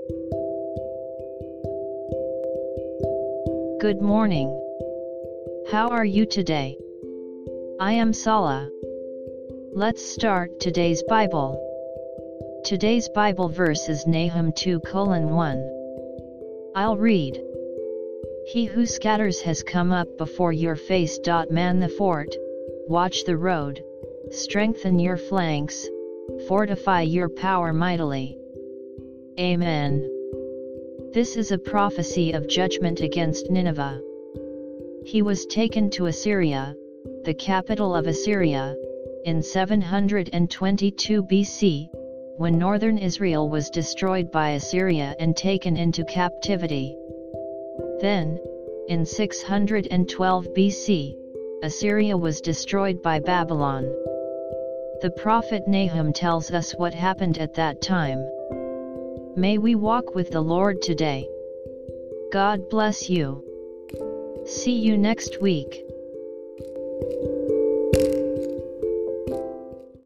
Good morning. How are you today? I am Sala. Let's start today's Bible. Today's Bible verse is Nahum 2:1. I'll read. He who scatters has come up before your face. Man the fort, watch the road, strengthen your flanks, fortify your power mightily. Amen. This is a prophecy of judgment against Nineveh. He was taken to Assyria, the capital of Assyria, in 722 BC, when northern Israel was destroyed by Assyria and taken into captivity. Then, in 612 BC, Assyria was destroyed by Babylon. The prophet Nahum tells us what happened at that time. May we walk with the Lord today. God bless you. See you next week.